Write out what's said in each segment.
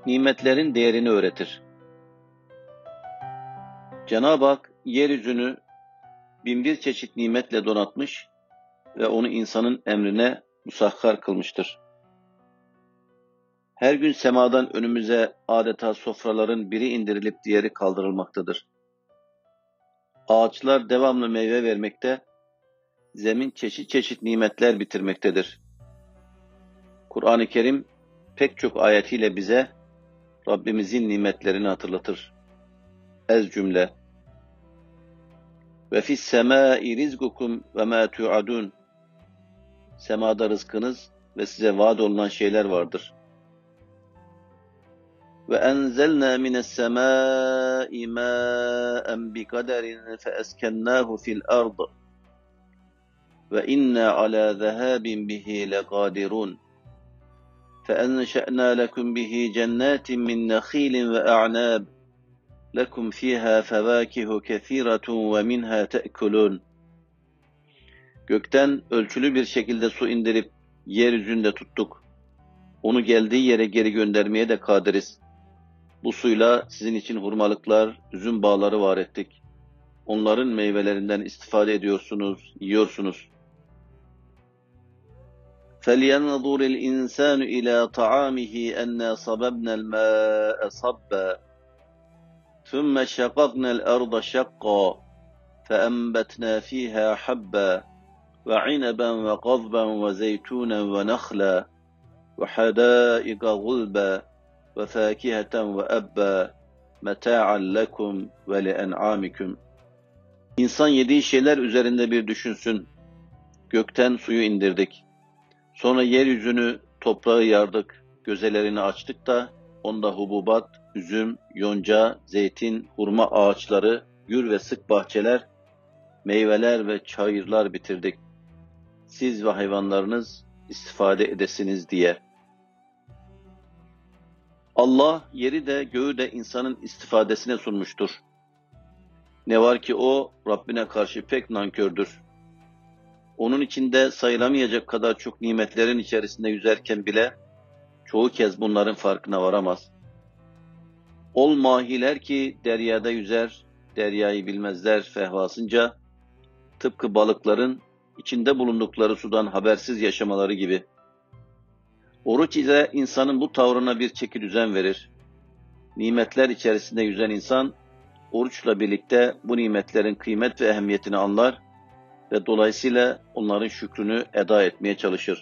Nimetlerin değerini öğretir. Cenab-ı Hak yeryüzünü binbir çeşit nimetle donatmış ve onu insanın emrine musahhar kılmıştır. Her gün semadan önümüze adeta sofraların biri indirilip diğeri kaldırılmaktadır. Ağaçlar devamlı meyve vermekte, zemin çeşit çeşit nimetler bitirmektedir. Kur'an-ı Kerim pek çok ayetiyle bize Rabbimizin nimetlerini hatırlatır. Ez cümle: Ve fis semâi rizgukum ve mâ tu'adun. Semada rızkınız ve size vaat olunan şeyler vardır. Ve enzelnâ mines semâi mâen biqaderin fe eskennâhu fil ard. Ve inna alâ zehâbin bihi leqâdirun. Fe enşe'nâ lekum bihi cennetin min nekhîlin ve a'nâb. Lekum fîhâ fevâkihu kethîretun ve minhâ te'kulûn. Gökten ölçülü bir şekilde su indirip yeryüzünde tuttuk. Onu geldiği yere geri göndermeye de kadiriz. Bu suyla sizin için hurmalıklar, üzüm bağları var ettik. Onların meyvelerinden istifade ediyorsunuz, yiyorsunuz. فَلْيَنْظُرِ الْاِنْسَانُ اِلَى طَعَامِهِ اَنَّا صَبَبْنَا الْمَاءَ صَبًّا ثُمَّ شَقَقْنَا الْأَرْضَ شَقًّا فَأَنْبَتْنَا فِيهَا حَبًّا وَعِنَبًا وَقَضْبًا وَزَيْتُونًا وَنَخْلًا وَحَدَائِقَ غُلْبًا وَفَاكِهَةً وَأَبًّا مَتَاعًا لَكُمْ وَلِأَنْعَامِكُمْ. İnsan yediği şeyler üzerinde bir düşünsün. Gökten suyu indirdik. Sonra yeryüzünü, toprağı yardık. Gözelerini açtık da onda hububat, üzüm, yonca, zeytin, hurma ağaçları, gür ve sık bahçeler, meyveler ve çayırlar bitirdik. Siz ve hayvanlarınız istifade edesiniz diye. Allah yeri de göğü de insanın istifadesine sunmuştur. Ne var ki o Rabbine karşı pek nankördür. Onun içinde sayılamayacak kadar çok nimetlerin içerisinde yüzerken bile çoğu kez bunların farkına varamaz. Ol mahiler ki deryada yüzer, deryayı bilmezler fehvasınca, tıpkı balıkların içinde bulundukları sudan habersiz yaşamaları gibi. Oruç ile insanın bu tavrına bir çekidüzen verir. Nimetler içerisinde yüzen insan, oruçla birlikte bu nimetlerin kıymet ve ehemmiyetini anlar ve dolayısıyla onların şükrünü eda etmeye çalışır.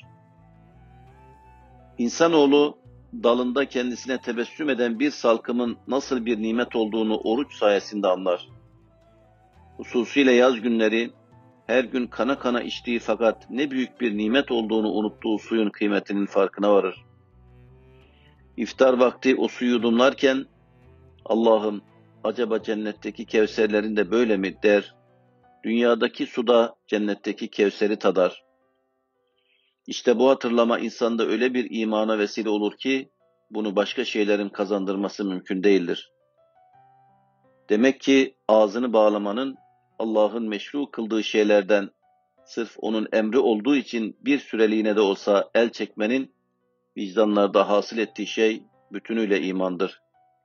İnsanoğlu, dalında kendisine tebessüm eden bir salkımın nasıl bir nimet olduğunu oruç sayesinde anlar. Hususiyle yaz günleri, her gün kana kana içtiği fakat ne büyük bir nimet olduğunu unuttuğu suyun kıymetinin farkına varır. İftar vakti o suyu yudumlarken, Allah'ım acaba cennetteki kevserlerin de böyle mi der, dünyadaki suda cennetteki kevseri tadar. İşte bu hatırlama insanda öyle bir imana vesile olur ki, bunu başka şeylerin kazandırması mümkün değildir. Demek ki ağzını bağlamanın, Allah'ın meşru kıldığı şeylerden, sırf onun emri olduğu için bir süreliğine de olsa el çekmenin, vicdanlarda hasıl ettiği şey bütünüyle imandır.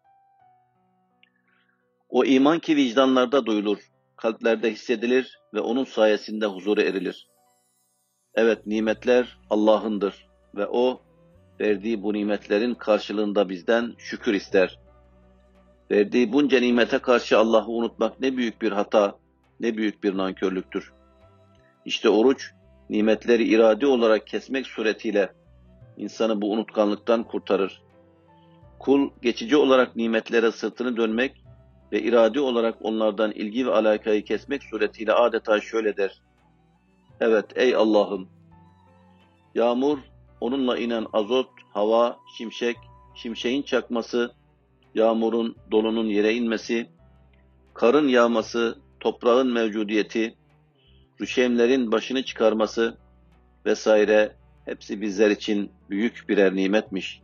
O iman ki vicdanlarda duyulur, kalplerde hissedilir ve onun sayesinde huzura erilir. Evet, nimetler Allah'ındır ve O, verdiği bu nimetlerin karşılığında bizden şükür ister. Verdiği bunca nimete karşı Allah'ı unutmak ne büyük bir hata, ne büyük bir nankörlüktür. İşte oruç, nimetleri iradi olarak kesmek suretiyle insanı bu unutkanlıktan kurtarır. Kul, geçici olarak nimetlere sırtını dönmek ve iradi olarak onlardan ilgi ve alakayı kesmek suretiyle adeta şöyle der: Evet ey Allah'ım! Yağmur, onunla inen azot, hava, şimşek, şimşeğin çakması, yağmurun, dolunun yere inmesi, karın yağması, toprağın mevcudiyeti, rüşemlerin başını çıkarması vesaire hepsi bizler için büyük birer nimetmiş.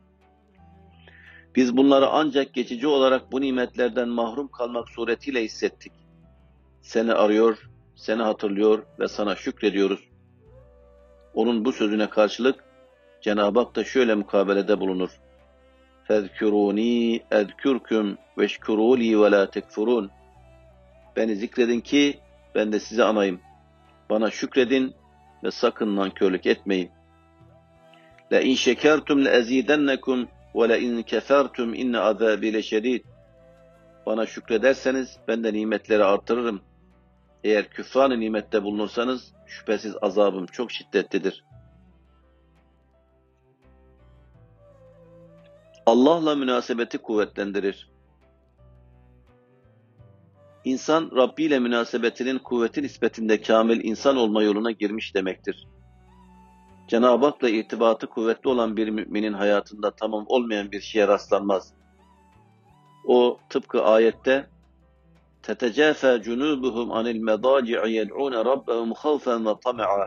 Biz bunları ancak geçici olarak bu nimetlerden mahrum kalmak suretiyle hissettik. Seni arıyor, seni hatırlıyor ve sana şükrediyoruz. Onun bu sözüne karşılık Cenab-ı Hak da şöyle mukabelede bulunur. فَذْكُرُونِي اَذْكُرْكُمْ وَاشْكُرُوا لِي وَلَا تَكْفُرُونَ. Beni zikredin ki ben de sizi anayım. Bana şükredin ve sakın nankörlük etmeyin. لَاِنْ شَكَرْتُمْ لَاَزِيدَنَّكُمْ وَلَاِنْ كَفَرْتُمْ اِنَّ عَذَابِي لَشَد۪يدٌ. Bana şükrederseniz ben de nimetleri artırırım. Eğer küfran-ı nimette bulunursanız şüphesiz azabım çok şiddetlidir. Allah'la münasebeti kuvvetlendirir. İnsan Rabbi ile münasebetinin kuvveti nispetinde kamil insan olma yoluna girmiş demektir. Cenab-ı Hak'la irtibatı kuvvetli olan bir müminin hayatında tamam olmayan bir şeye rastlanmaz. O tıpkı ayette تَتَجَافَى جُنُوبُهُمْ عَنِ الْمَضَاجِعِ يَدْعُونَ رَبَّهُمْ خَوْفًا وَطَمَعًا.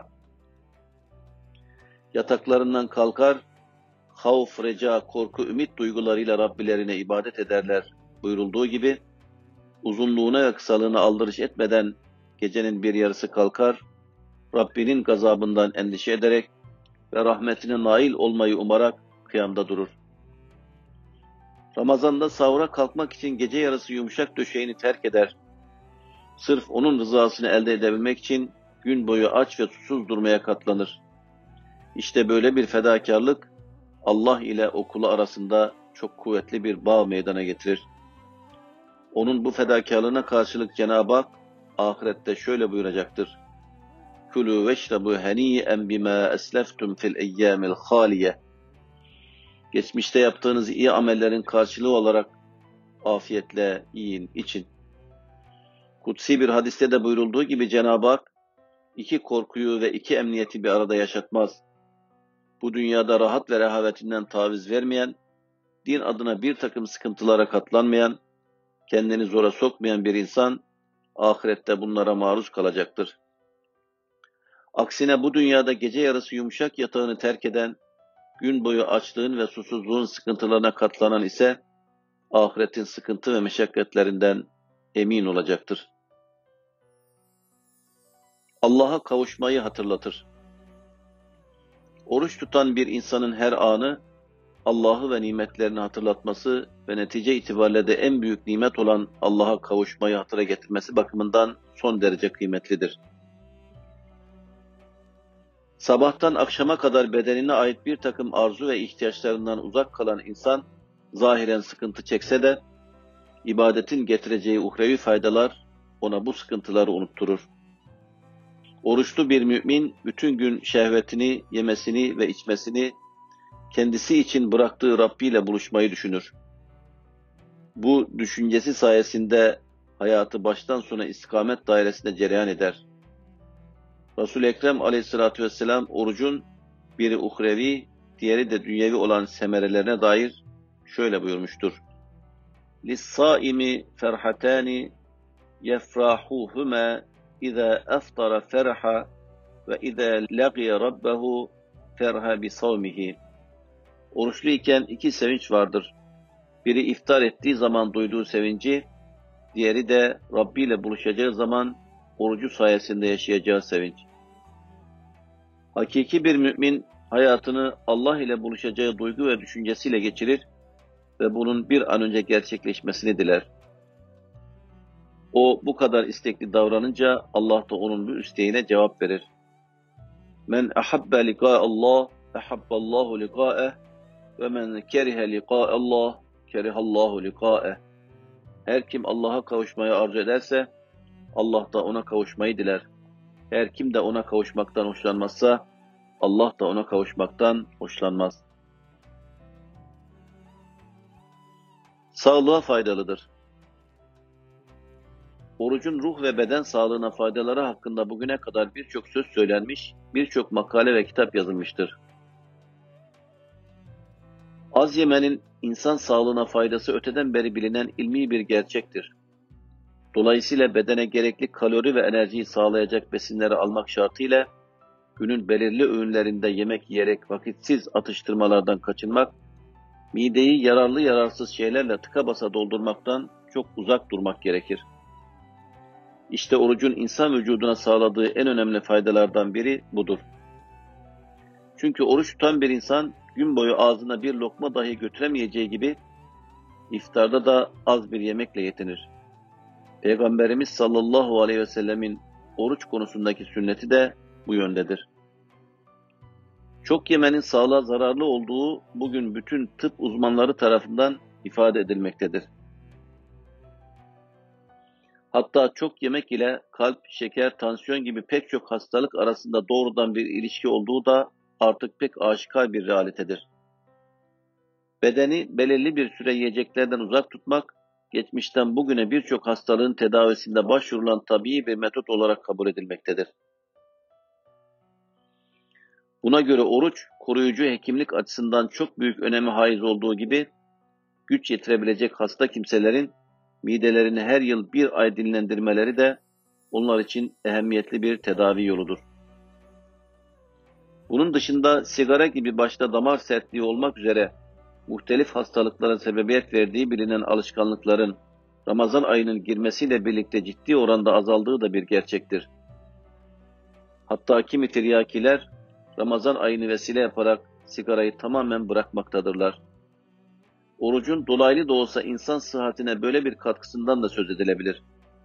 Yataklarından kalkar, havf, reca, korku, ümit duygularıyla Rabbilerine ibadet ederler buyurulduğu gibi, uzunluğuna ve kısalığına aldırış etmeden gecenin bir yarısı kalkar, Rabbinin gazabından endişe ederek ve rahmetine nail olmayı umarak kıyamda durur. Ramazan'da sahura kalkmak için gece yarısı yumuşak döşeğini terk eder. Sırf onun rızasını elde edebilmek için gün boyu aç ve susuz durmaya katlanır. İşte böyle bir fedakarlık Allah ile o kulu arasında çok kuvvetli bir bağ meydana getirir. Onun bu fedakarlığına karşılık Cenab-ı Hak ahirette şöyle buyuracaktır. Kulû veşrabû henî'en bimâ esleftum fil eyyâmil hâliye. Geçmişte yaptığınız iyi amellerin karşılığı olarak afiyetle yiyin, için. Kutsi bir hadiste de buyurulduğu gibi Cenab-ı Hak iki korkuyu ve iki emniyeti bir arada yaşatmaz. Bu dünyada rahat ve rehavetinden taviz vermeyen, din adına bir takım sıkıntılara katlanmayan, kendini zora sokmayan bir insan ahirette bunlara maruz kalacaktır. Aksine bu dünyada gece yarısı yumuşak yatağını terk eden, gün boyu açlığın ve susuzluğun sıkıntılarına katlanan ise ahiretin sıkıntı ve meşakkatlerinden emin olacaktır. Allah'a kavuşmayı hatırlatır. Oruç tutan bir insanın her anı Allah'ı ve nimetlerini hatırlatması ve netice itibariyle de en büyük nimet olan Allah'a kavuşmayı hatıra getirmesi bakımından son derece kıymetlidir. Sabahtan akşama kadar bedenine ait bir takım arzu ve ihtiyaçlarından uzak kalan insan, zahiren sıkıntı çekse de, ibadetin getireceği uhrevi faydalar ona bu sıkıntıları unutturur. Oruçlu bir mümin, bütün gün şehvetini, yemesini ve içmesini, kendisi için bıraktığı Rabbi ile buluşmayı düşünür. Bu düşüncesi sayesinde hayatı baştan sona istikamet dairesinde cereyan eder. Resul-i Ekrem aleyhissalatü vesselam orucun biri uhrevi, diğeri de dünyevi olan semerelerine dair şöyle buyurmuştur. لِلصَّائِمِ فَرْحَتَانِ يَفْرَحُهُمَا اِذَا اَفْطَرَ فَرْحَ وَاِذَا لَقِيَ رَبَّهُ فَرْحَ بِصَوْمِهِ. Oruçluyken iki sevinç vardır. Biri iftar ettiği zaman duyduğu sevinci, diğeri de Rabbi ile buluşacağı zaman orucu sayesinde yaşayacağı sevinç. Hakiki bir mümin hayatını Allah ile buluşacağı duygu ve düşüncesiyle geçirir ve bunun bir an önce gerçekleşmesini diler. O bu kadar istekli davranınca Allah da onun bu isteğine cevap verir. Men ahabbe liqa'allah ahabballahu liqa'eh ve men kerihe liqa'allah kerihallahu liqa'eh. Her kim Allah'a kavuşmayı arzu ederse Allah da ona kavuşmayı diler. Her kim de ona kavuşmaktan hoşlanmazsa Allah da ona kavuşmaktan hoşlanmaz. Sağlığa faydalıdır. Orucun ruh ve beden sağlığına faydaları hakkında bugüne kadar birçok söz söylenmiş, birçok makale ve kitap yazılmıştır. Az yemenin insan sağlığına faydası öteden beri bilinen ilmi bir gerçektir. Dolayısıyla bedene gerekli kalori ve enerjiyi sağlayacak besinleri almak şartıyla günün belirli öğünlerinde yemek yiyerek vakitsiz atıştırmalardan kaçınmak, mideyi yararlı yararsız şeylerle tıka basa doldurmaktan çok uzak durmak gerekir. İşte orucun insan vücuduna sağladığı en önemli faydalardan biri budur. Çünkü oruç tutan bir insan gün boyu ağzına bir lokma dahi götüremeyeceği gibi iftarda da az bir yemekle yetinir. Peygamberimiz sallallahu aleyhi ve sellemin oruç konusundaki sünneti de bu yöndedir. Çok yemenin sağlığa zararlı olduğu bugün bütün tıp uzmanları tarafından ifade edilmektedir. Hatta çok yemek ile kalp, şeker, tansiyon gibi pek çok hastalık arasında doğrudan bir ilişki olduğu da artık pek aşikar bir realitedir. Bedeni belirli bir süre yiyeceklerden uzak tutmak, geçmişten bugüne birçok hastalığın tedavisinde başvurulan tabii bir metot olarak kabul edilmektedir. Buna göre oruç, koruyucu hekimlik açısından çok büyük öneme haiz olduğu gibi, güç yetirebilecek hasta kimselerin midelerini her yıl bir ay dinlendirmeleri de onlar için ehemmiyetli bir tedavi yoludur. Bunun dışında sigara gibi başta damar sertliği olmak üzere muhtelif hastalıklara sebebiyet verdiği bilinen alışkanlıkların Ramazan ayının girmesiyle birlikte ciddi oranda azaldığı da bir gerçektir. Hatta kimi tiryakiler Ramazan ayını vesile yaparak sigarayı tamamen bırakmaktadırlar. Orucun dolaylı da olsa insan sıhhatine böyle bir katkısından da söz edilebilir.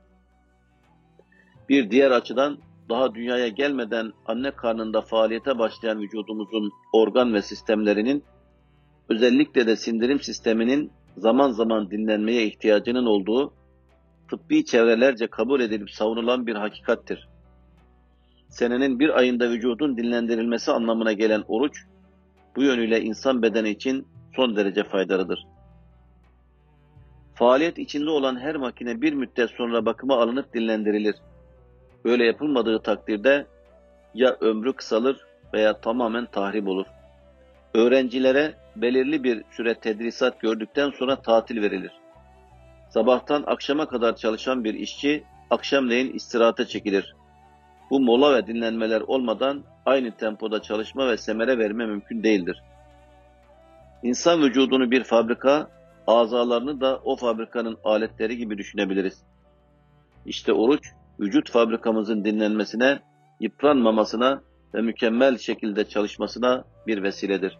Bir diğer açıdan daha dünyaya gelmeden anne karnında faaliyete başlayan vücudumuzun organ ve sistemlerinin, özellikle de sindirim sisteminin zaman zaman dinlenmeye ihtiyacının olduğu tıbbi çevrelerce kabul edilip savunulan bir hakikattir. Senenin bir ayında vücudun dinlendirilmesi anlamına gelen oruç, bu yönüyle insan bedeni için son derece faydalıdır. Faaliyet içinde olan her makine bir müddet sonra bakıma alınıp dinlendirilir. Böyle yapılmadığı takdirde ya ömrü kısalır veya tamamen tahrip olur. Öğrencilere belirli bir süre tedrisat gördükten sonra tatil verilir. Sabahtan akşama kadar çalışan bir işçi akşamleyin istirahate çekilir. Bu mola ve dinlenmeler olmadan aynı tempoda çalışma ve semere verme mümkün değildir. İnsan vücudunu bir fabrika, azalarını da o fabrikanın aletleri gibi düşünebiliriz. İşte oruç, vücut fabrikamızın dinlenmesine, yıpranmamasına ve mükemmel şekilde çalışmasına bir vesiledir.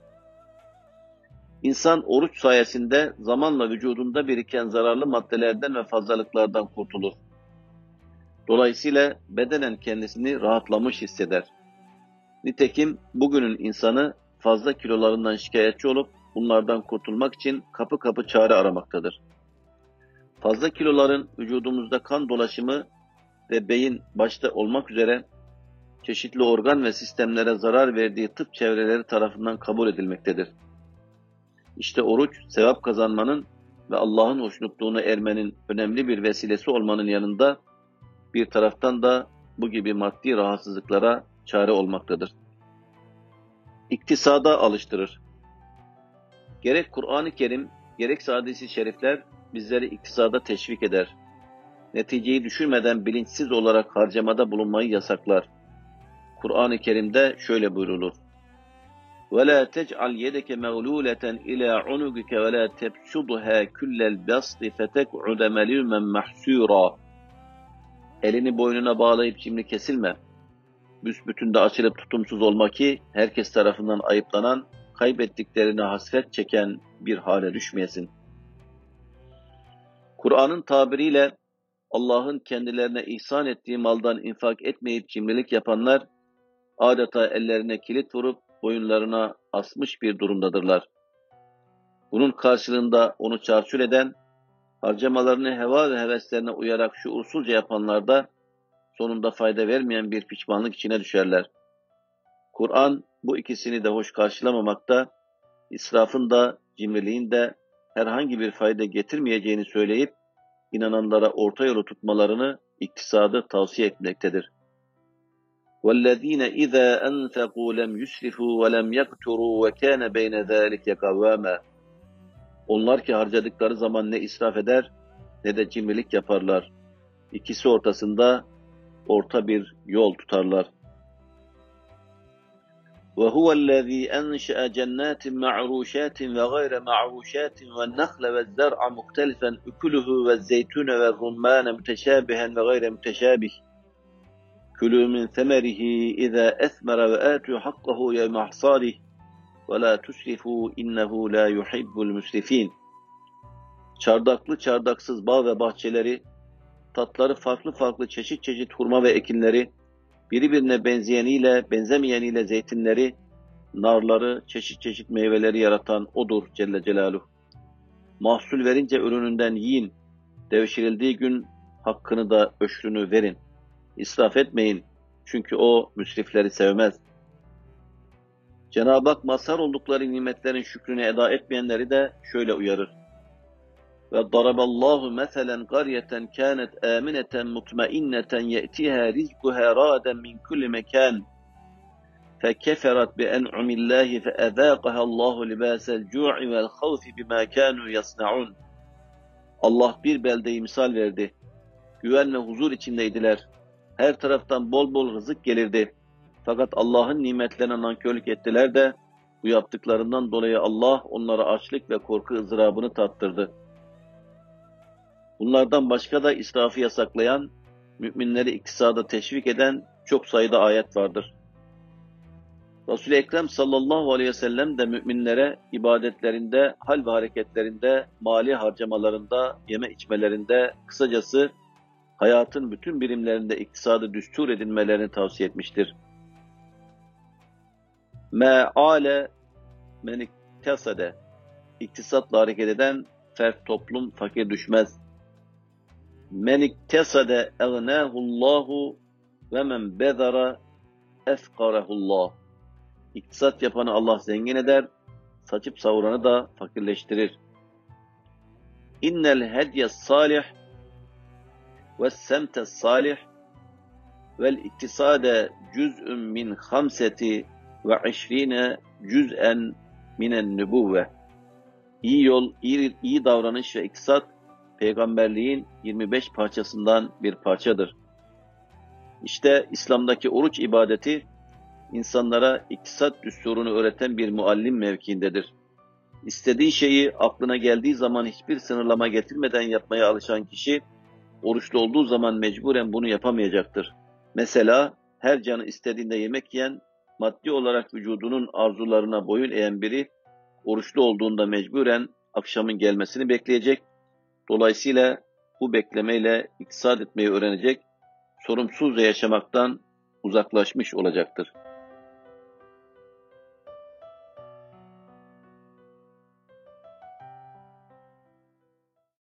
İnsan oruç sayesinde zamanla vücudunda biriken zararlı maddelerden ve fazlalıklardan kurtulur. Dolayısıyla bedenen kendisini rahatlamış hisseder. Nitekim bugünün insanı fazla kilolarından şikayetçi olup bunlardan kurtulmak için kapı kapı çare aramaktadır. Fazla kiloların vücudumuzda kan dolaşımı ve beyin başta olmak üzere çeşitli organ ve sistemlere zarar verdiği tıp çevreleri tarafından kabul edilmektedir. İşte oruç, sevap kazanmanın ve Allah'ın hoşnutluğuna ermenin önemli bir vesilesi olmanın yanında bir taraftan da bu gibi maddi rahatsızlıklara çare olmaktadır. İktisada alıştırır. Gerek Kur'an-ı Kerim, gerekse hadis-i şerifler bizleri iktisada teşvik eder. Neticeyi düşürmeden bilinçsiz olarak harcamada bulunmayı yasaklar. Kur'an-ı Kerim'de şöyle buyrulur: وَلَا تَجْعَلْ يَدَكَ مَغْلُولَةً إِلَى عُنُقِكَ وَلَا تَبْسُطْهَا كُلَّ الْبَسْطِ فَتَقْعُدَ مَلُومًا مَحْسُورًا. Elini boynuna bağlayıp cimri kesilme. Büsbütün de açılıp tutumsuz olma ki herkes tarafından ayıplanan, kaybettiklerine hasret çeken bir hale düşmeyesin. Kur'an'ın tabiriyle Allah'ın kendilerine ihsan ettiği maldan infak etmeyip cimrilik yapanlar adeta ellerine kilit vurup boyunlarına asmış bir durumdadırlar. Bunun karşılığında onu çarçur eden, harcamalarını heva ve heveslerine uyarak şuursuzca yapanlar da sonunda fayda vermeyen bir pişmanlık içine düşerler. Kur'an bu ikisini de hoş karşılamamakta, israfın da cimriliğin de herhangi bir fayda getirmeyeceğini söyleyip inananlara orta yolu tutmalarını, iktisadı tavsiye etmektedir. وَالَّذ۪ينَ اِذَا أَنْفَقُوا لَمْ يُسْرِفُوا وَلَمْ يَقْتُرُوا وَكَانَ بَيْنَ ذَٰلِكَ قَوَامًا. Onlar ki harcadıkları zaman ne israf eder ne de cimrilik yaparlar. İkisi ortasında orta bir yol tutarlar. وَهُوَ الَّذ۪ي أَنْشَأَ جَنَّاتٍ مَعْرُوشَاتٍ وَغَيْرَ مَعْرُوشَاتٍ وَالنَّخْلَ وَالزَّرْعَ مُخْتَلِفًا أُكُلُهُ وَالزَّيْتُونَ وَالرُّمَّانَ مُتَشَابِهًا وَغَيْرَ مُتَشَابِهٍ كُلُوا مِنْ ثَمَرِهِ إِذَا أَثْمَرَ وَآتُوا حَقَّهُ يَوْمَ حَصَادِهِ وَلَا تُسْرِفُوا اِنَّهُ لَا يُحِبُّ الْمُسْرِف۪ينَ. Çardaklı çardaksız bağ ve bahçeleri, tatları farklı farklı çeşit çeşit hurma ve ekinleri, birbirine benzeyeniyle benzemeyeniyle zeytinleri, narları, çeşit çeşit meyveleri yaratan O'dur Celle Celaluhu. Mahsul verince ürününden yiyin, devşirildiği gün hakkını da öşrünü verin. İsraf etmeyin, çünkü O müsrifleri sevmez. Cenab-ı Hak mazhar oldukları nimetlerin şükrünü eda etmeyenleri de şöyle uyarır. وَضَرَبَ اللّٰهُ مَثَلًا قَرْيَةً كَانَتْ آمِنَةً مُطْمَئِنَّةً يَأْتِيهَا رِزْقُهَا رَغَدًا مِنْ كُلِّ مَكَانٍ فَكَفَرَتْ بِأَنْعُمِ اللّٰهِ فَأَذَاقَهَا اللّٰهُ لِبَاسَ الْجُوعِ وَالْخَوْفِ بِمَا كَانُوا يَصْنَعُونَ. Allah bir beldeyi misal verdi. Güven ve huzur içindeydiler. Her taraftan bol bol rızık gelirdi. Fakat Allah'ın nimetlerine nankörlük ettiler de bu yaptıklarından dolayı Allah onlara açlık ve korku ızdırabını tattırdı. Bunlardan başka da israfı yasaklayan, müminleri iktisada teşvik eden çok sayıda ayet vardır. Resul-i Ekrem sallallahu aleyhi ve sellem de müminlere ibadetlerinde, hal ve hareketlerinde, mali harcamalarında, yeme içmelerinde, kısacası hayatın bütün birimlerinde iktisadı düstur edinmelerini tavsiye etmiştir. Me'ale men iktasade, iktisatla hareket eden fert toplum fakir düşmez. Men iktasade egnâhullâhu ve men bezara efkarehullah. İktisat yapanı Allah zengin eder, saçıp savuranı da fakirleştirir. İnnel hedye salih ve semte salih vel iktisade cüz'ün min hamseti ve işrine cüz'en minen nübüvve. İyi yol, iyi davranış ve iktisat, peygamberliğin 25 parçasından bir parçadır. İşte İslam'daki oruç ibadeti, insanlara iktisat düsturunu öğreten bir muallim mevkiindedir. İstediği şeyi aklına geldiği zaman hiçbir sınırlama getirmeden yapmaya alışan kişi, oruçlu olduğu zaman mecburen bunu yapamayacaktır. Mesela her canı istediğinde yemek yiyen, maddi olarak vücudunun arzularına boyun eğen biri, oruçlu olduğunda mecburen akşamın gelmesini bekleyecek. Dolayısıyla bu beklemeyle iktisat etmeyi öğrenecek, sorumsuzca yaşamaktan uzaklaşmış olacaktır.